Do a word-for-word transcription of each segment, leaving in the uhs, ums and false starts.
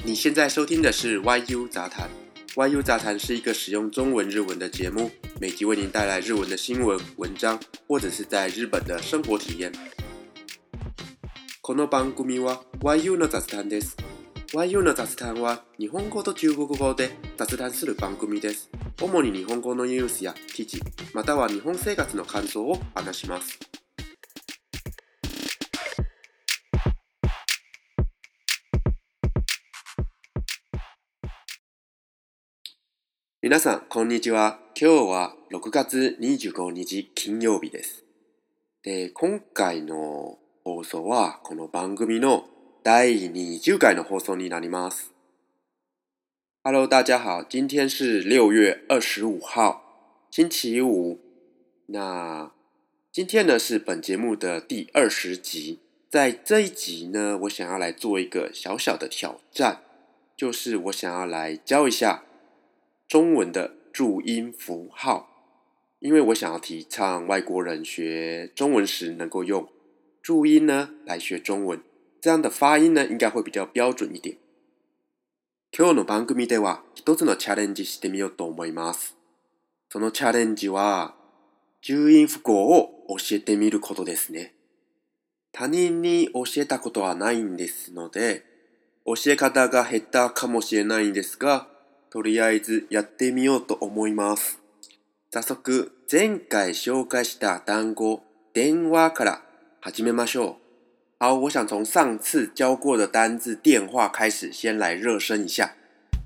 你现在收听的是 Y U 杂谈。Y U 杂談是一个使用中文日文的节目，每集为您带来日文的新闻、文章，或者是在日本的生活体验。この番組は Y U の雑談です。Y U の雑談は日本語と中国語で雑談する番組です。主に日本語のニュースや記事、または日本生活の感想を話します。皆さん、こんにちは。今日はろくがつにじゅうごにち金曜日です。で、今回の放送はこの番組のだいにじゅっかいの放送になります。Hello， 大家好，今天是六月二十五号，星期五。那今天呢是本节目的第二十集，在这一集呢，我想要来做一个小小的挑战，就是我想要来教一下中文的注音符号，因为我想要提倡外国人学中文时能够用注音呢来学中文，这样的发音呢应该会比较标准一点。今日の番組では一つのチャレンジしてみようと思います。そのチャレンジは注音符号を教えてみることですね。他人に教えたことはないんですので、教え方が下手かもしれないんですが、とりあえずやってみようと思います。早速、前回紹介した単語、電話から始めましょう。好，我想从上次教过的单字电话开始，先来热身一下。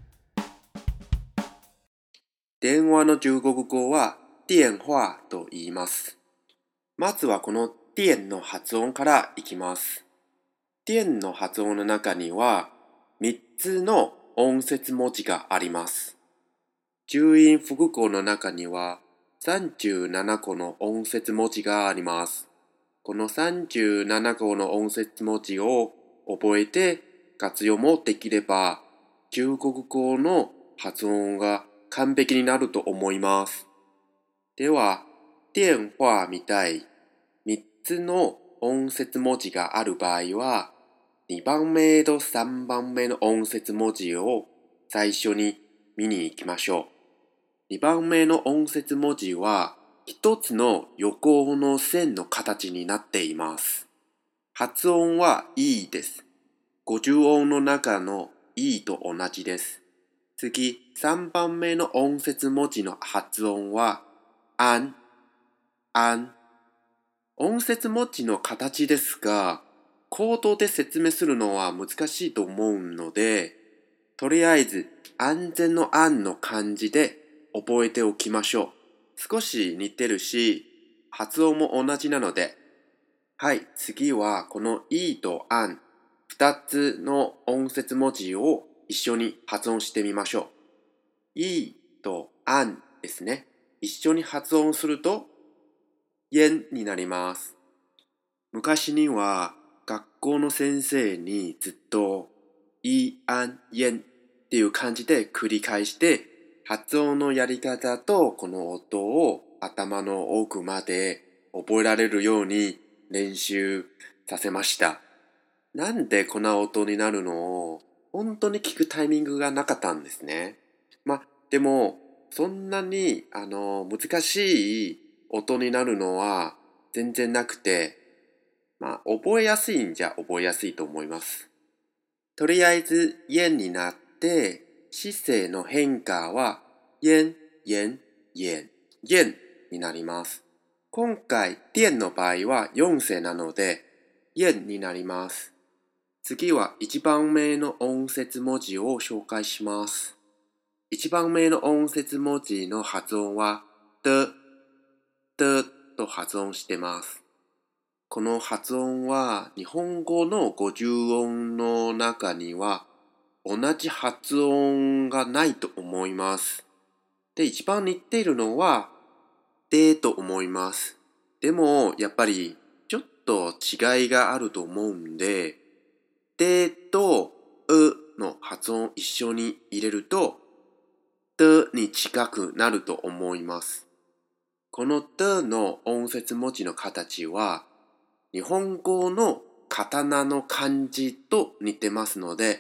電話の中国語は電話と言います。まずはこの電の発音からいきます。電の発音の中にはみっつの音節文字があります。注音符号の中にはさんじゅうななこの音節文字があります。このさんじゅうななこの音節文字を覚えて活用もできれば、中国語の発音が完璧になると思います。では、電話みたいみっつの音節文字がある場合は、にばんめとさんばんめの音節文字を最初に見に行きましょう。にばんめの音節文字は一つの横の線の形になっています。発音はいいです。ごじゅう音の中のいいと同じです。次、さんばんめの音節文字の発音はあん、あん。音節文字の形ですが、口頭で説明するのは難しいと思うので、とりあえず安全の安の漢字で覚えておきましょう。少し似てるし、発音も同じなので。はい、次はこのいとあん、二つの音節文字を一緒に発音してみましょう。いとあんですね。一緒に発音すると、えんになります。昔には学校の先生にずっといあんえんっていう感じで繰り返して発音のやり方とこの音を頭の奥まで覚えられるように練習させました。なんでこんな音になるのを本当に聞くタイミングがなかったんですね。まあでもそんなにあの難しい音になるのは全然なくて、まあ覚えやすいんじゃ覚えやすいと思います。とりあえずえんになって姿勢の変化はえん、えん、えん、えんになります。今回、電の場合はよん声なので、えんになります。次はいちばんめの音節文字を紹介します。いちばんめの音節文字の発音は、的、的と発音してます。この発音は日本語のごじゅう音の中には同じ発音がないと思います。で、一番似ているのはでと思います。でもやっぱりちょっと違いがあると思うんで、でとうの発音を一緒に入れるとでに近くなると思います。このでの音節文字の形は日本語の刀の漢字と似てますので、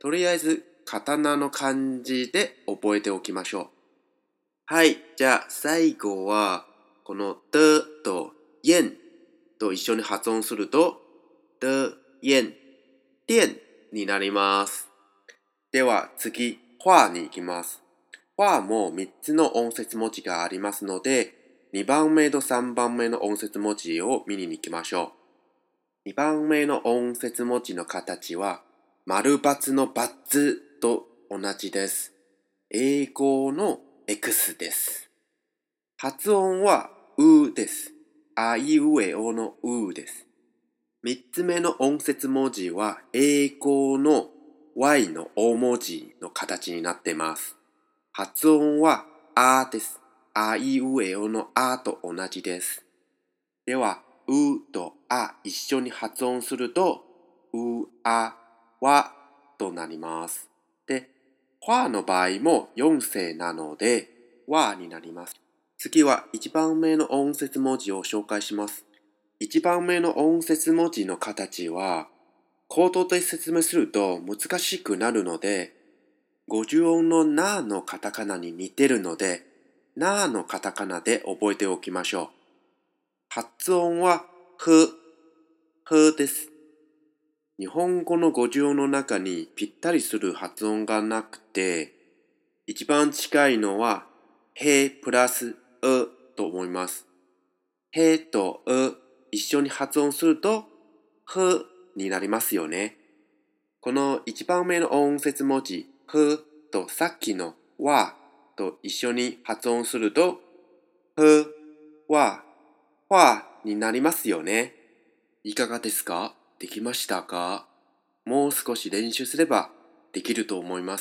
とりあえず、カタナの漢字で覚えておきましょう。はい、じゃあ最後は、この的と燕と一緒に発音すると、的燕、店になります。では次、花に行きます。花もみっつの音節文字がありますので、にばんめとさんばんめの音節文字を見に行きましょう。にばんめの音節文字の形は、丸×の×と同じです。英語の X です。発音はうです。あいうえおのうです。みっつめの音節文字は英語の Y の大文字の形になっています。発音はあです。あいうえおのあと同じです。では、うとあ一緒に発音すると、う、あ、わとなります。で、わの場合もよん声なので、わになります。次はいちばんめの音節文字を紹介します。いちばんめの音節文字の形は、口頭で説明すると難しくなるので、ごじゅう音のなのカタカナに似てるので、なのカタカナで覚えておきましょう。発音はふ、ふです。日本語のごじゅう音の中にぴったりする発音がなくて、一番近いのは、へプラスうと思います。へとう一緒に発音すると、ふになりますよね。この一番目の音節文字、ふとさっきのわと一緒に発音すると、ふ、わ、わになりますよね。いかがですか？できましたか？もう少し練習すればできると思います。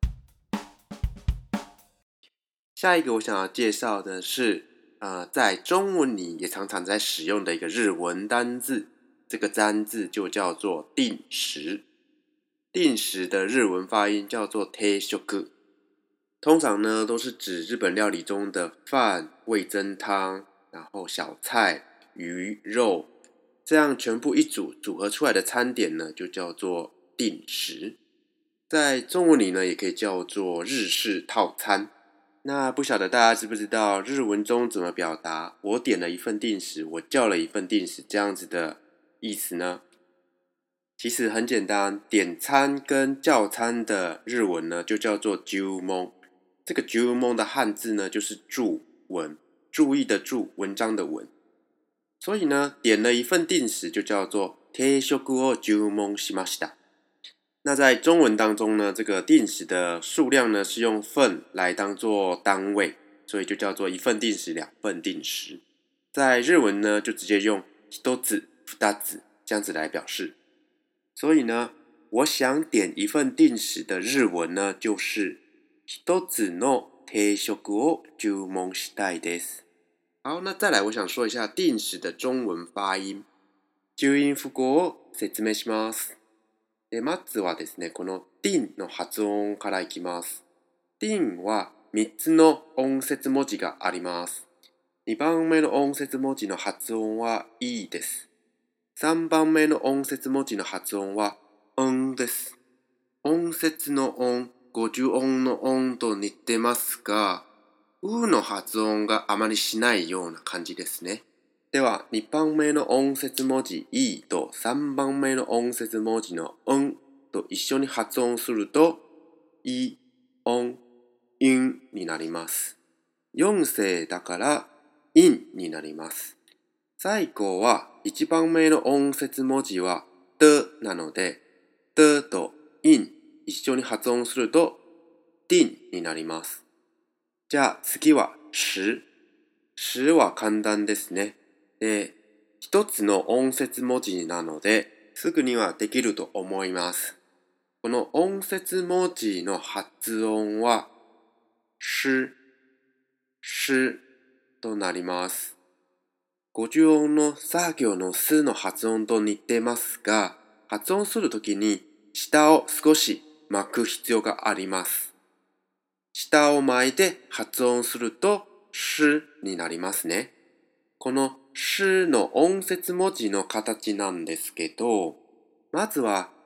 下一个我想要介绍的是，呃，在中文里也常常在使用的一个日文单字，这个单字就叫做定时。定时的日文发音叫做定食，通常呢都是指日本料理中的饭、味噌汤，然后小菜、鱼、肉，这样全部一组组合出来的餐点呢，就叫做定时。在中文里呢，也可以叫做日式套餐。那不晓得大家知不知道日文中怎么表达我点了一份定时，我叫了一份定时这样子的意思呢？其实很简单，点餐跟叫餐的日文呢就叫做注文。这个注文的汉字呢就是注文，注意的注，文章的文。所以呢，点了一份定时就叫做定食を注文しました。那在中文当中呢，这个定时的数量呢是用份来当做单位，所以就叫做一份定时、两份定时。在日文呢，就直接用一つ、二つ这样子来表示。所以呢，我想点一份定时的日文呢，就是一つの定食を注文したいです。好，那再来，我想说一下定时的中文发音。注音符号を説明します。でまずはですね、このティンの発音からいきます。ティンはみっつの音節文字があります。にばんめの音節文字の発音はいいです。さんばんめの音節文字の発音はんです。音節の音、ごじゅう音の音と似てますが、うの発音があまりしないような感じですね。では、にばんめの音節文字いとさんばんめの音節文字のんと一緒に発音すると、い、ん、いんになります。よん声だから、いんになります。最後はいちばんめの音節文字は的なので、的といん一緒に発音すると、ディンになります。じゃあ次はし。しは簡単ですね。で、一つの音節文字なので、すぐにはできると思います。この音節文字の発音は、し、しとなります。ごじゅう音の作業のすの発音と似てますが、発音するときに下を少し巻く必要があります。下を巻いて発音すると、しになりますね。このしの音節文字の形なんですけど、まずは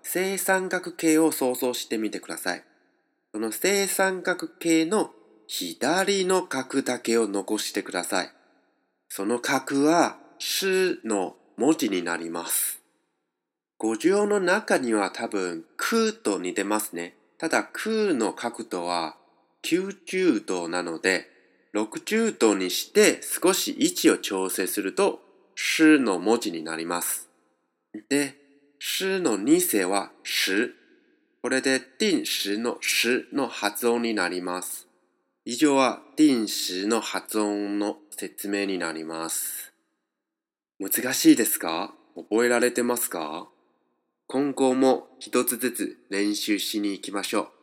正三角形を想像してみてください。その正三角形の左の角だけを残してください。その角はしの文字になります。語順の中には多分くと似てますね。ただくの角度はきゅうじゅうどなので、ろくじゅうどにして少し位置を調整するとしの文字になります。で、しのに世はし。これで定時のしの発音になります。以上は定時の発音の説明になります。難しいですか？覚えられてますか？今後も一つずつ練習しに行きましょう。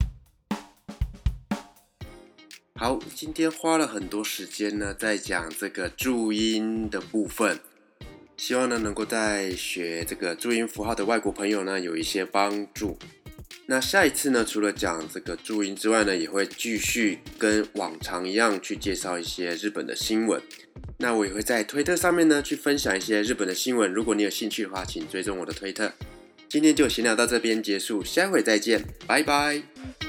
好，今天花了很多时间呢，在讲这个注音的部分，希望呢能够在学这个注音符号的外国朋友呢有一些帮助。那下一次呢，除了讲这个注音之外呢，也会继续跟往常一样去介绍一些日本的新闻。那我也会在推特上面呢去分享一些日本的新闻，如果你有兴趣的话，请追踪我的推特。今天就闲聊到这边结束，下回再见，拜拜。